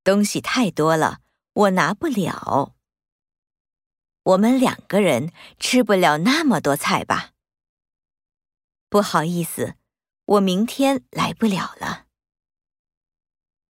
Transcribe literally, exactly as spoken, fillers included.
东西太多了，我拿不了。我们两个人吃不了那么多菜吧？不好意思，我明天来不了了。